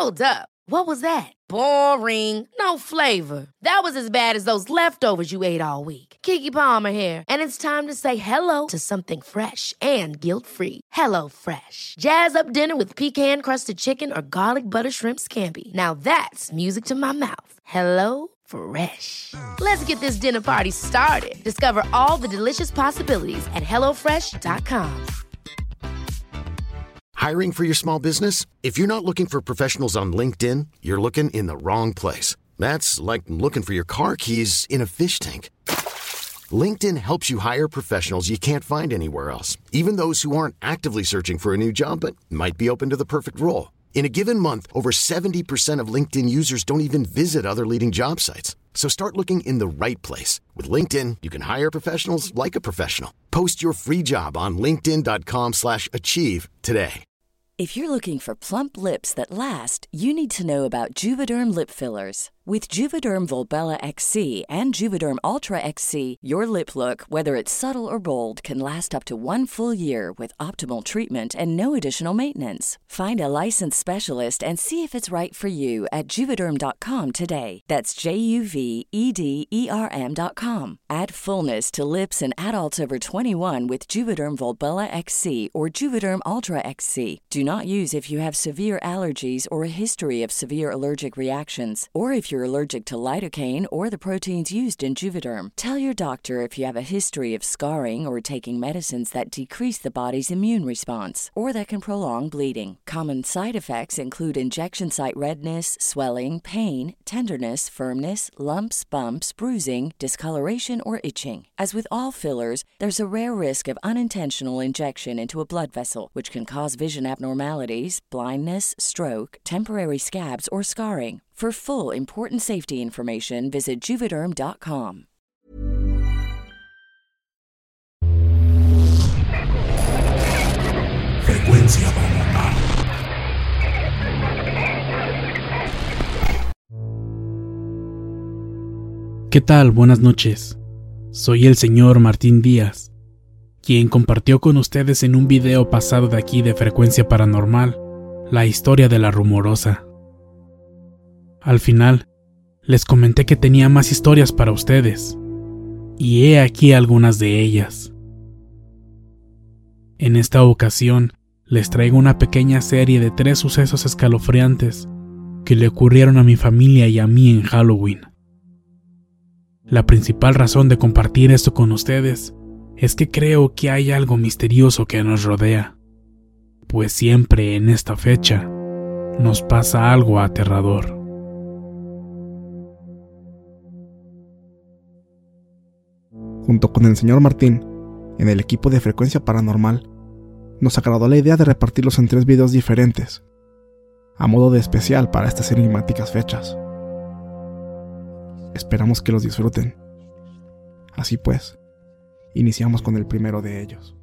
Hold up. What was that? Boring. No flavor. That was as bad as those leftovers you ate all week. Keke Palmer here, and it's time to say hello to something fresh and guilt-free. Hello Fresh. Jazz up dinner with pecan-crusted chicken or garlic butter shrimp scampi. Now that's music to my mouth. Hello Fresh. Let's get this dinner party started. Discover all the delicious possibilities at hellofresh.com. Hiring for your small business? If you're not looking for professionals on LinkedIn, you're looking in the wrong place. That's like looking for your car keys in a fish tank. LinkedIn helps you hire professionals you can't find anywhere else, even those who aren't actively searching for a new job but might be open to the perfect role. In a given month, over 70% of LinkedIn users don't even visit other leading job sites. So start looking in the right place. With LinkedIn, you can hire professionals like a professional. Post your free job on linkedin.com/achieve today. If you're looking for plump lips that last, you need to know about Juvederm lip fillers. With Juvederm Volbella XC and Juvederm Ultra XC, your lip look, whether it's subtle or bold, can last up to 1 full year with optimal treatment and no additional maintenance. Find a licensed specialist and see if it's right for you at Juvederm.com today. That's JUVEDERM.com. Add fullness to lips in adults over 21 with Juvederm Volbella XC or Juvederm Ultra XC. Do not use if you have severe allergies or a history of severe allergic reactions, or if you're allergic to lidocaine or the proteins used in Juvederm. Tell your doctor if you have a history of scarring or taking medicines that decrease the body's immune response or that can prolong bleeding. Common side effects include injection site redness, swelling, pain, tenderness, firmness, lumps, bumps, bruising, discoloration, or itching. As with all fillers, there's a rare risk of unintentional injection into a blood vessel, which can cause vision abnormalities, blindness, stroke, temporary scabs, or scarring. For full important safety information, visit Juvederm.com. Frecuencia paranormal. ¿Qué tal? Buenas noches. Soy el señor Martín Díaz, quien compartió con ustedes en un video pasado de aquí de Frecuencia Paranormal la historia de la Rumorosa. Al final, les comenté que tenía más historias para ustedes, y he aquí algunas de ellas. En esta ocasión, les traigo una pequeña serie de 3 sucesos escalofriantes que le ocurrieron a mi familia y a mí en Halloween. La principal razón de compartir esto con ustedes es que creo que hay algo misterioso que nos rodea, pues siempre en esta fecha nos pasa algo aterrador. Junto con el señor Martín, en el equipo de Frecuencia Paranormal, nos agradó la idea de repartirlos en 3 videos diferentes, a modo de especial para estas enigmáticas fechas. Esperamos que los disfruten. Así pues, iniciamos con el primero de ellos.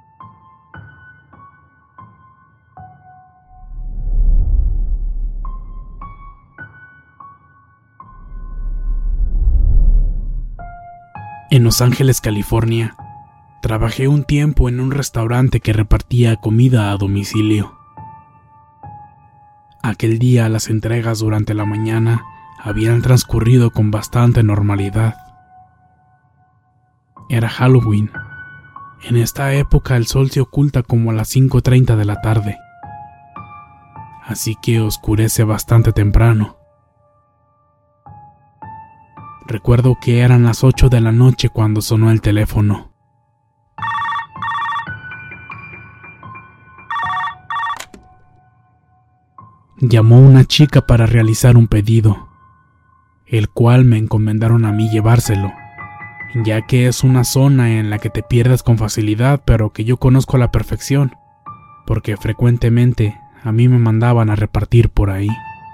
En Los Ángeles, California, trabajé un tiempo en un restaurante que repartía comida a domicilio. Aquel día las entregas durante la mañana habían transcurrido con bastante normalidad. Era Halloween. En esta época el sol se oculta como a las 5:30 de la tarde, así que oscurece bastante temprano. Recuerdo que eran las 8 de la noche cuando sonó el teléfono. Llamó una chica para realizar un pedido, el cual me encomendaron a mí llevárselo, ya que es una zona en la que te pierdes con facilidad, pero que yo conozco a la perfección, porque frecuentemente a mí me mandaban a repartir por ahí.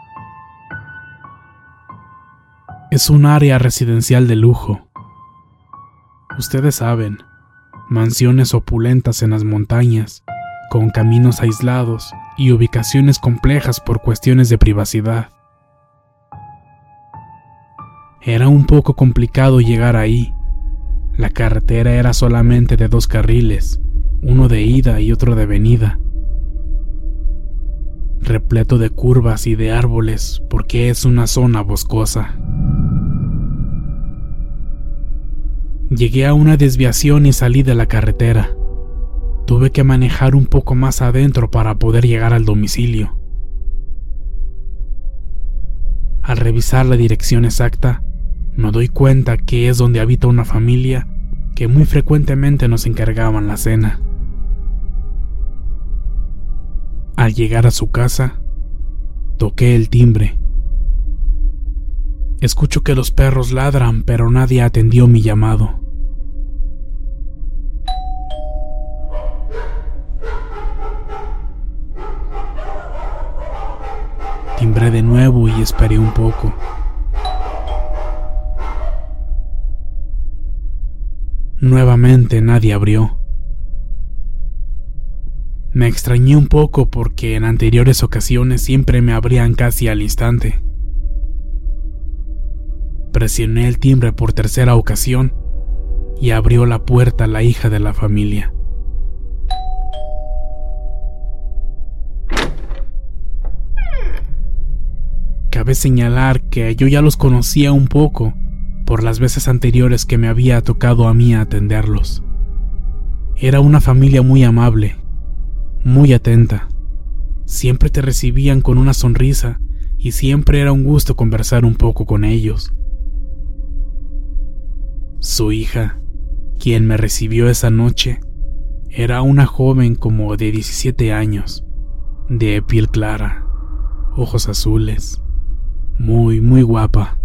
Es un área residencial de lujo. Ustedes saben, mansiones opulentas en las montañas, con caminos aislados y ubicaciones complejas por cuestiones de privacidad. Era un poco complicado llegar ahí. La carretera era solamente de 2 carriles, uno de ida y otro de venida. repleto de curvas y de árboles porque es una zona boscosa. Llegué a una desviación y salí de la carretera. Tuve que manejar un poco más adentro para poder llegar al domicilio. Al revisar la dirección exacta, me doy cuenta que es donde habita una familia que muy frecuentemente nos encargaban la cena. Al llegar a su casa, toqué el timbre. Escucho que los perros ladran, pero nadie atendió mi llamado. Timbré de nuevo y esperé un poco. Nuevamente nadie abrió. Me extrañé un poco porque en anteriores ocasiones siempre me abrían casi al instante. Presioné el timbre por tercera ocasión y abrió la puerta la hija de la familia. Cabe señalar que yo ya los conocía un poco por las veces anteriores que me había tocado a mí atenderlos. Era una familia muy amable, muy atenta. Siempre te recibían con una sonrisa y siempre era un gusto conversar un poco con ellos. Su hija, quien me recibió esa noche, era una joven como de 17 años, de piel clara, ojos azules, muy guapa.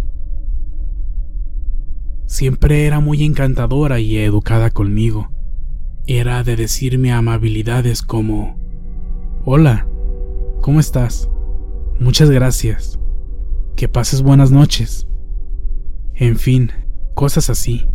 Siempre era muy encantadora y educada conmigo. Era de decirme amabilidades como: hola, ¿cómo estás? Muchas gracias. Que pases buenas noches. En fin, cosas así.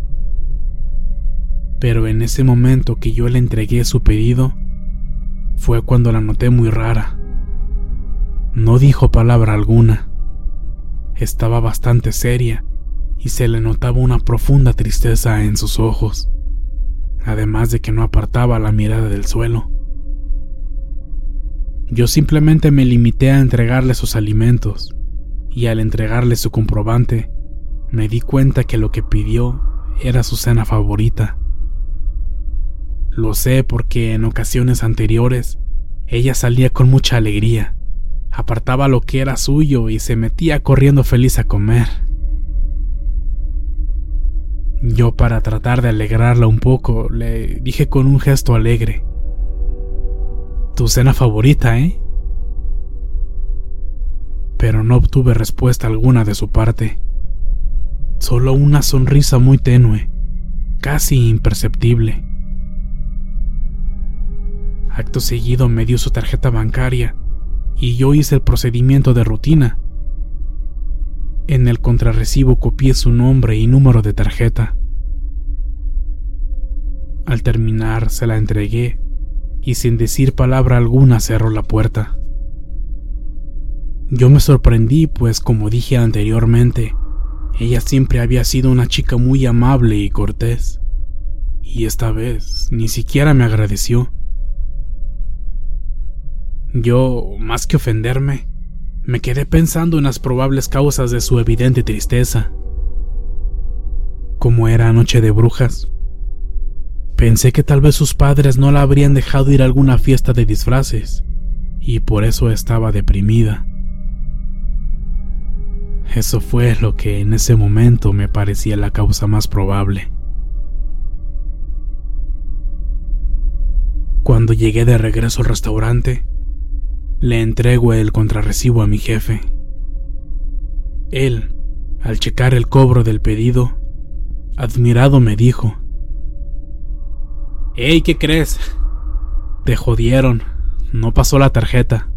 Pero en ese momento que yo le entregué su pedido, fue cuando la noté muy rara. No dijo palabra alguna. Estaba bastante seria y se le notaba una profunda tristeza en sus ojos, además de que no apartaba la mirada del suelo. Yo simplemente me limité a entregarle sus alimentos, y al entregarle su comprobante, me di cuenta que lo que pidió era su cena favorita. Lo sé porque en ocasiones anteriores ella salía con mucha alegría, apartaba lo que era suyo y se metía corriendo feliz a comer. Yo, para tratar de alegrarla un poco, le dije con un gesto alegre: tu cena favorita, ¿eh? Pero no obtuve respuesta alguna de su parte. Solo una sonrisa muy tenue, casi imperceptible. Acto seguido me dio su tarjeta bancaria y yo hice el procedimiento de rutina. En el contrarrecibo copié su nombre y número de tarjeta. Al terminar se la entregué y sin decir palabra alguna cerró la puerta. Yo me sorprendí, pues como dije anteriormente, ella siempre había sido una chica muy amable y cortés, y esta vez ni siquiera me agradeció. Yo, más que ofenderme, me quedé pensando en las probables causas de su evidente tristeza. Como era noche de brujas, pensé que tal vez sus padres no la habrían dejado ir a alguna fiesta de disfraces, y por eso estaba deprimida. Eso fue lo que en ese momento me parecía la causa más probable. Cuando llegué de regreso al restaurante, le entrego el contrarrecibo a mi jefe. Él, al checar el cobro del pedido, admirado me dijo: «Hey, ¿qué crees? Te jodieron, no pasó la tarjeta».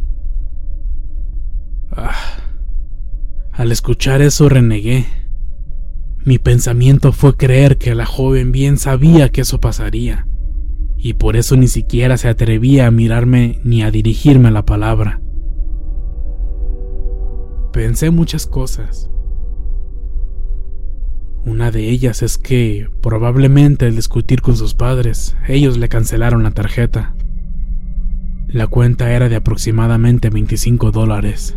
Al escuchar eso renegué. Mi pensamiento fue creer que la joven bien sabía que eso pasaría, y por eso ni siquiera se atrevía a mirarme ni a dirigirme la palabra. Pensé muchas cosas. Una de ellas es que probablemente al discutir con sus padres, ellos le cancelaron la tarjeta. La cuenta era de aproximadamente $25.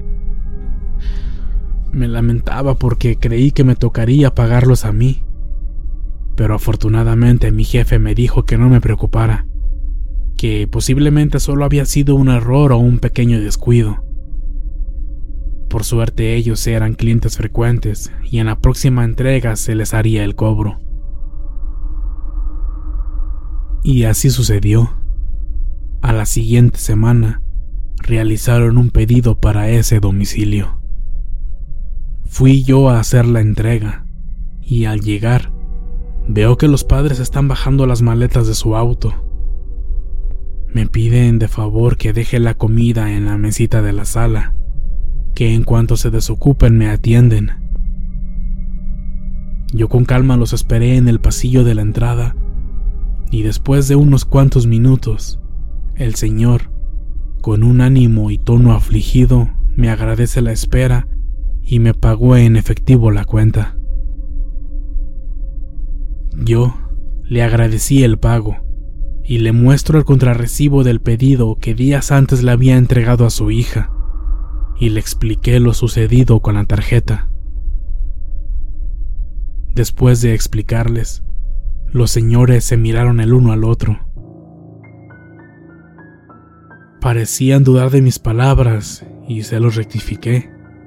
Me lamentaba porque creí que me tocaría pagarlos a mí, pero afortunadamente mi jefe me dijo que no me preocupara, que posiblemente solo había sido un error o un pequeño descuido. Por suerte ellos eran clientes frecuentes y en la próxima entrega se les haría el cobro. Y así sucedió. A la siguiente semana, realizaron un pedido para ese domicilio. Fui yo a hacer la entrega, y al llegar, veo que los padres están bajando las maletas de su auto. Me piden de favor que deje la comida en la mesita de la sala, que en cuanto se desocupen me atienden. Yo con calma los esperé en el pasillo de la entrada, y después de unos cuantos minutos, el señor, con un ánimo y tono afligido, me agradece la espera y me pagó en efectivo la cuenta. Yo le agradecí el pago y le muestro el contrarrecibo del pedido que días antes le había entregado a su hija, y le expliqué lo sucedido con la tarjeta. Después de explicarles, los señores se miraron el uno al otro. Parecían dudar de mis palabras y se los rectifiqué.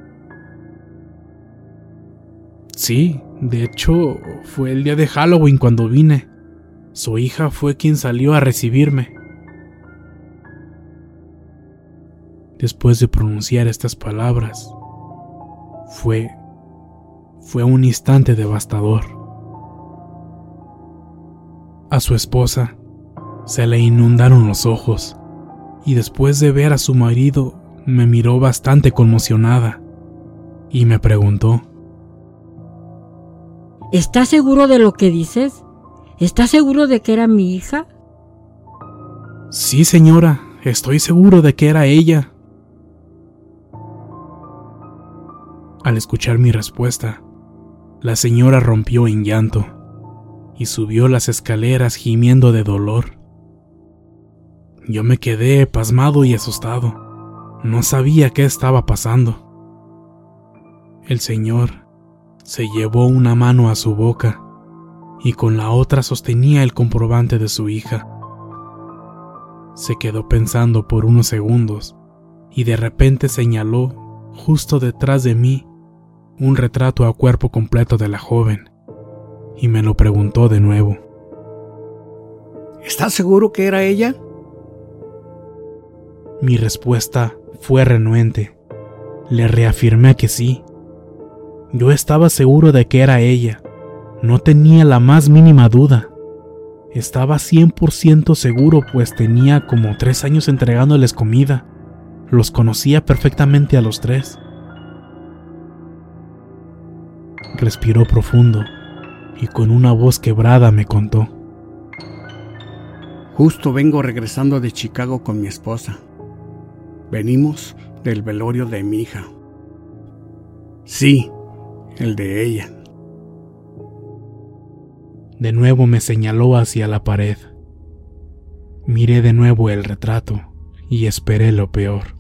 Sí, de hecho, fue el día de Halloween cuando vine. Su hija fue quien salió a recibirme. Después de pronunciar estas palabras, fue un instante devastador. A su esposa se le inundaron los ojos, y después de ver a su marido, me miró bastante conmocionada y me preguntó: ¿Estás seguro de lo que dices? ¿Estás seguro de que era mi hija? Sí, señora, estoy seguro de que era ella. Al escuchar mi respuesta, la señora rompió en llanto y subió las escaleras gimiendo de dolor. Yo me quedé pasmado y asustado. No sabía qué estaba pasando. El señor se llevó una mano a su boca y con la otra sostenía el comprobante de su hija. Se quedó pensando por unos segundos y de repente señaló, justo detrás de mí, un retrato a cuerpo completo de la joven y me lo preguntó de nuevo. ¿Estás seguro que era ella? Mi respuesta fue renuente. Le reafirmé que sí. Yo estaba seguro de que era ella. No tenía la más mínima duda. Estaba 100% seguro, pues tenía como 3 años entregándoles comida. Los conocía perfectamente a los 3. Respiró profundo y con una voz quebrada me contó: Justo vengo regresando de Chicago con mi esposa. Venimos del velorio de mi hija. Sí, el de ella. De nuevo me señaló hacia la pared. Miré de nuevo el retrato y esperé lo peor.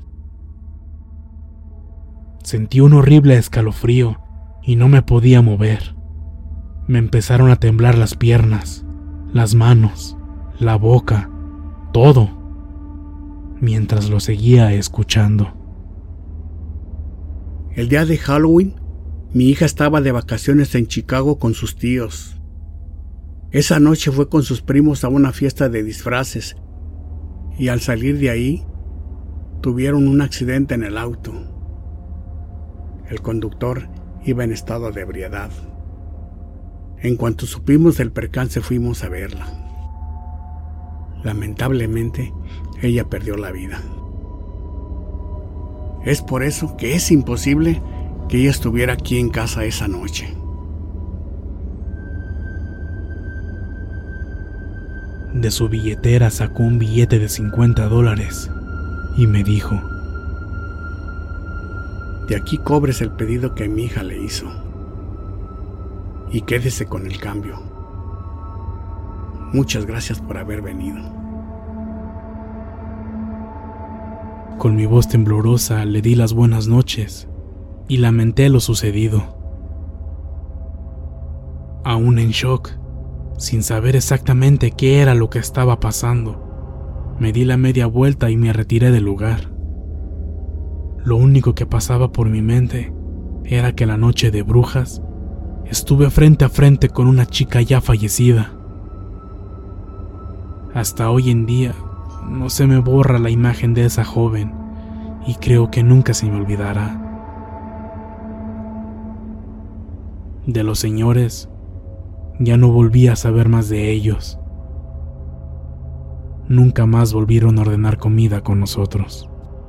Sentí un horrible escalofrío y no me podía mover. Me empezaron a temblar las piernas, las manos, la boca, todo, mientras lo seguía escuchando. El día de Halloween, mi hija estaba de vacaciones en Chicago con sus tíos. Esa noche fue con sus primos a una fiesta de disfraces y al salir de ahí, tuvieron un accidente en el auto. El conductor iba en estado de ebriedad. En cuanto supimos del percance, fuimos a verla. Lamentablemente, ella perdió la vida. Es por eso que es imposible que ella estuviera aquí en casa esa noche. De su billetera sacó un billete de $50 y me dijo: De aquí cobres el pedido que mi hija le hizo y quédese con el cambio. Muchas gracias por haber venido. Con mi voz temblorosa le di las buenas noches y lamenté lo sucedido. Aún en shock, sin saber exactamente qué era lo que estaba pasando, me di la media vuelta y me retiré del lugar. Lo único que pasaba por mi mente era que la noche de brujas estuve frente a frente con una chica ya fallecida. Hasta hoy en día no se me borra la imagen de esa joven y creo que nunca se me olvidará. De los señores, ya no volví a saber más de ellos. Nunca más volvieron a ordenar comida con nosotros.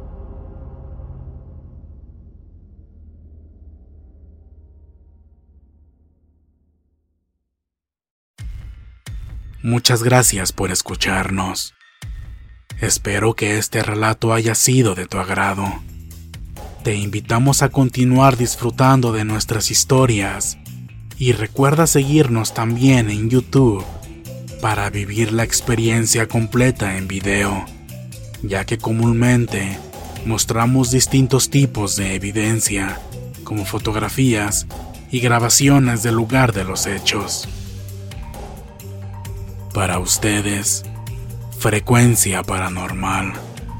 Muchas gracias por escucharnos. Espero que este relato haya sido de tu agrado. Te invitamos a continuar disfrutando de nuestras historias y recuerda seguirnos también en YouTube para vivir la experiencia completa en video, ya que comúnmente mostramos distintos tipos de evidencia, como fotografías y grabaciones del lugar de los hechos. Para ustedes, Frecuencia Paranormal.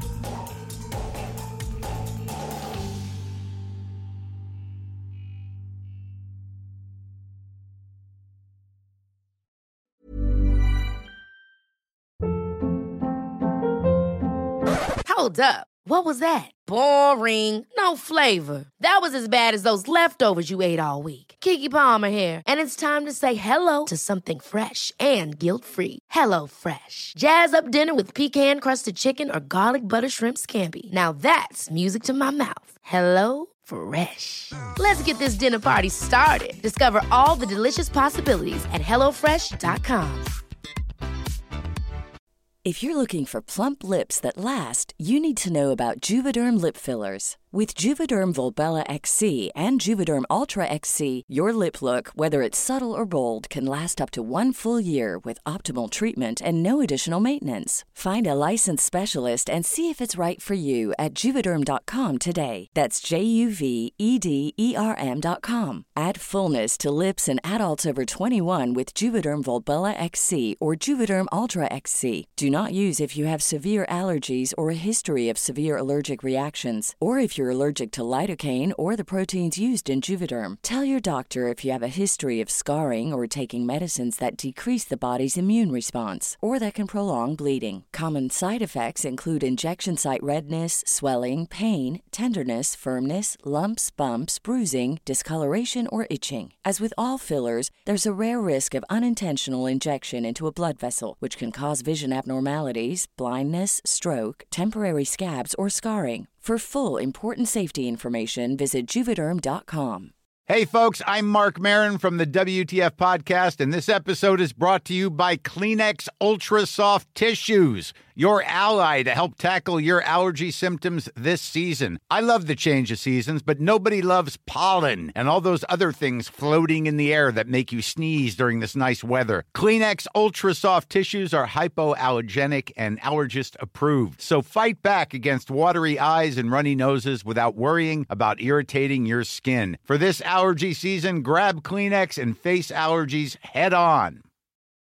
Hold up. What was that? Boring. No flavor. That was as bad as those leftovers you ate all week. Keke Palmer here, and it's time to say hello to something fresh and guilt-free. Hello Fresh. Jazz up dinner with pecan-crusted chicken or garlic butter shrimp scampi. Now that's music to my mouth. Hello Fresh. Let's get this dinner party started. Discover all the delicious possibilities at hellofresh.com. If you're looking for plump lips that last, you need to know about Juvederm lip fillers. With Juvederm Volbella XC and Juvederm Ultra XC, your lip look, whether it's subtle or bold, can last up to 1 full year with optimal treatment and no additional maintenance. Find a licensed specialist and see if it's right for you at Juvederm.com today. That's JUVEDERM.com. Add fullness to lips in adults over 21 with Juvederm Volbella XC or Juvederm Ultra XC. Do not use if you have severe allergies or a history of severe allergic reactions, or if you're allergic to lidocaine or the proteins used in Juvederm. Tell your doctor if you have a history of scarring or taking medicines that decrease the body's immune response or that can prolong bleeding. Common side effects include injection site redness, swelling, pain, tenderness, firmness, lumps, bumps, bruising, discoloration, or itching. As with all fillers, there's a rare risk of unintentional injection into a blood vessel, which can cause vision abnormalities, blindness, stroke, temporary scabs, or scarring. For full, important safety information, visit Juvederm.com. Hey, folks, I'm Mark Maron from the WTF Podcast, and this episode is brought to you by Kleenex Ultra Soft Tissues, your ally to help tackle your allergy symptoms this season. I love the change of seasons, but nobody loves pollen and all those other things floating in the air that make you sneeze during this nice weather. Kleenex Ultra Soft Tissues are hypoallergenic and allergist approved, so fight back against watery eyes and runny noses without worrying about irritating your skin. For this allergy season, grab Kleenex and face allergies head on.